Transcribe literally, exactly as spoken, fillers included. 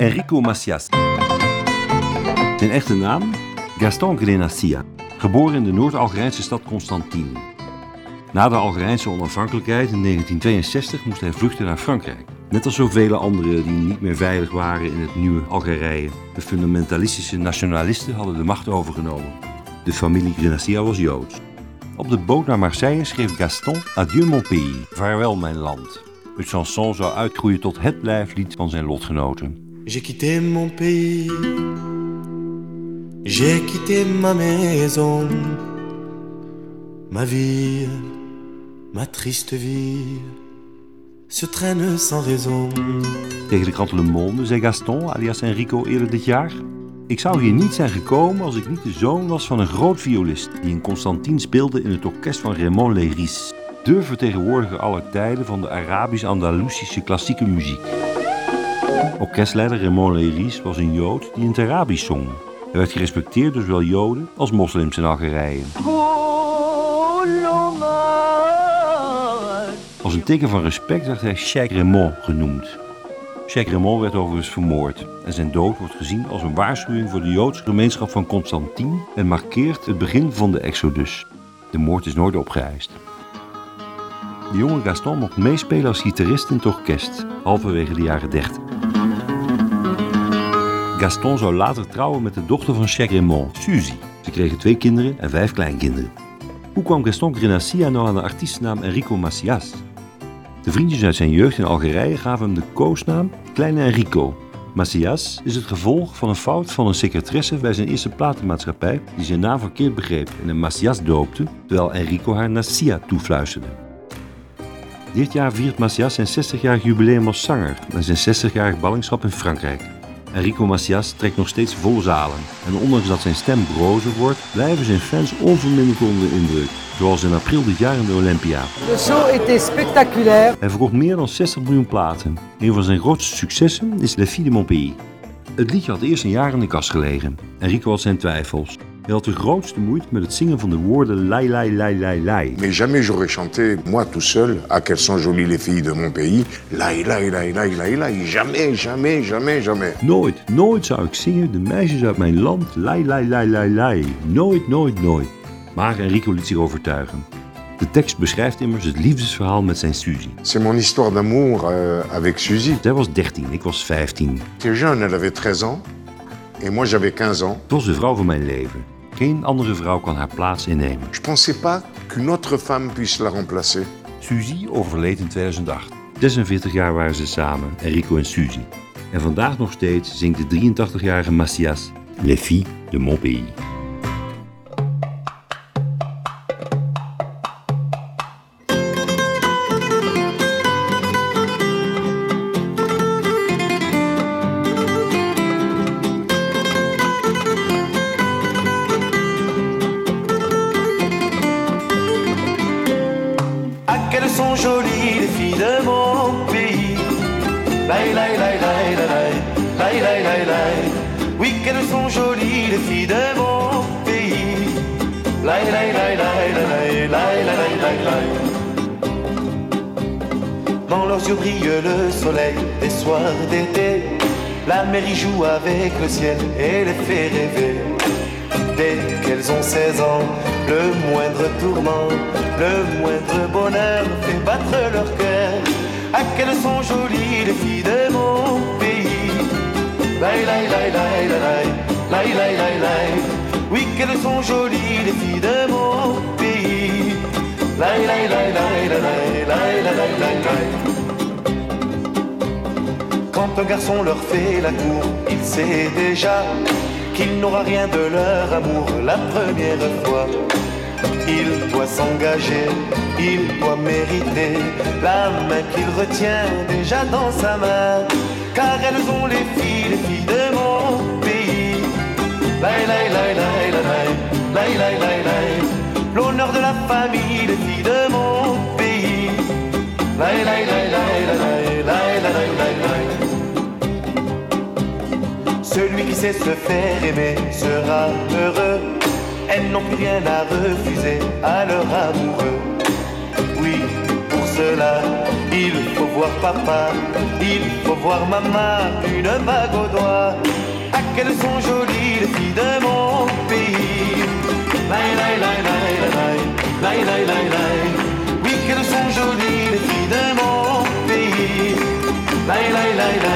Enrico Macias. Zijn echte naam? Gaston Grenacia. Geboren in de Noord-Algerijnse stad Constantine. Na de Algerijnse onafhankelijkheid in negentien tweeënzestig moest hij vluchten naar Frankrijk. Net als zoveel anderen die niet meer veilig waren in het nieuwe Algerije. De fundamentalistische nationalisten hadden de macht overgenomen. De familie Grenacia was Joods. Op de boot naar Marseille schreef Gaston Adieu mon pays, vaarwel mijn land. Het chanson zou uitgroeien tot het blijflied van zijn lotgenoten. J'ai quitté mon pays, j'ai quitté ma maison, ma vie, ma triste vie, se traîne sans raison. Tegen de krant Le Monde zei Gaston, alias Enrico, eerder dit jaar: ik zou hier niet zijn gekomen als ik niet de zoon was van een groot violist die in Constantine speelde in het orkest van Raymond Leiris, de vertegenwoordiger aller tijden van de Arabisch-Andalusische klassieke muziek. Orkestleider Raymond Leiris was een Jood die in het Arabisch zong. Hij werd gerespecteerd door zowel Joden als moslims in Algerije. Als een teken van respect werd hij Cheikh Raymond genoemd. Cheikh Raymond werd overigens vermoord en zijn dood wordt gezien als een waarschuwing voor de Joodse gemeenschap van Constantine en markeert het begin van de Exodus. De moord is nooit opgeëist. De jonge Gaston mocht meespelen als gitarist in het orkest, halverwege de jaren dertig. Gaston zou later trouwen met de dochter van Cheikh Raymond, Suzy. Ze kregen twee kinderen en vijf kleinkinderen. Hoe kwam Gaston Grenacia nou aan de artiestennaam Enrico Macias? De vriendjes uit zijn jeugd in Algerije gaven hem de koosnaam Kleine Enrico. Macias is het gevolg van een fout van een secretaresse bij zijn eerste platenmaatschappij die zijn naam verkeerd begreep en hem Macias doopte, terwijl Enrico haar Nacia toefluisterde. Dit jaar viert Macias zijn zestigjarig jubileum als zanger en zijn zestigjarig ballingschap in Frankrijk. Enrico Macias trekt nog steeds volle zalen en ondanks dat zijn stem brozer wordt, blijven zijn fans onverminderd onder de indruk. Zoals in april dit jaar in de Olympia. De show était spectaculaire. Hij verkocht meer dan zestig miljoen platen. Een van zijn grootste successen is Les Filles de mon pays. Het liedje had eerst een jaar in de kast gelegen. Enrico had zijn twijfels. Hij had de grootste moeite met het zingen van de woorden lai lai lai lai lai. Mais jamais j'aurais chanté, moi tout seul, ah qu'elles sont jolies les filles de mon pays. Lai lai lai lai lai lai. Jamais, jamais, jamais, jamais. Nooit, nooit zou ik zingen de meisjes uit mijn land. Lai lai lai lai lai. Nooit, nooit, nooit. Maar Enrico liet zich overtuigen. De tekst beschrijft immers het liefdesverhaal met zijn Suzy. C'est mon histoire d'amour euh, avec Suzy. Zij was dertien, ik was vijftien. J'étais jeune, elle avait treize ans. Et moi j'avais quinze ans. Het was de vrouw van mijn leven. Geen andere vrouw kan haar plaats innemen. Je pensais pas qu'une autre femme puisse la remplacer. Suzy overleed in tweeduizend acht. zesenveertig jaar waren ze samen, Enrico en Suzy. En vandaag nog steeds zingt de drieëntachtigjarige Macias Les Filles de mon pays. Qu'elles sont jolies les filles de mon pays. Lai lai lai lai lai lai lai lai lai. Oui qu'elles sont jolies les filles de mon pays. Lai lai lai lai lai lai lai lai lai. Dans leurs yeux brille le soleil des soirs d'été. La mer y joue avec le ciel et les fait rêver. Dès qu'elles ont seize ans, le moindre tourment, le moindre bonheur fait battre leur cœur. Ah qu'elles sont jolies les filles de mon pays. Lai lai lai lai lai lai lai lai lai. Oui qu'elles sont jolies les filles de mon pays. Lai lai lai lai lai lai lai lai lai. Quand un garçon leur fait la cour, il sait déjà qu'il n'aura rien de leur amour la première fois. Il doit s'engager, il doit mériter la main qu'il retient déjà dans sa main. Car elles ont les filles, les filles de mon pays. Lai lai lai lai lai lai lai lai lai. L'honneur de la famille, les filles de mon pays. Lai lai lai lai lai lai lai lai lai. Celui qui sait se faire aimer sera heureux. Elles n'ont plus rien à refuser à leur amoureux. Oui, pour cela, Il faut voir papa, il faut voir maman, une bague au doigt. Ah, qu'elles sont jolies les filles de mon pays. Laï, laï, laï, laï, laï, laï, laï, laï, laï. Oui, qu'elles sont jolies les filles de mon pays. Laï, laï, laï, laï.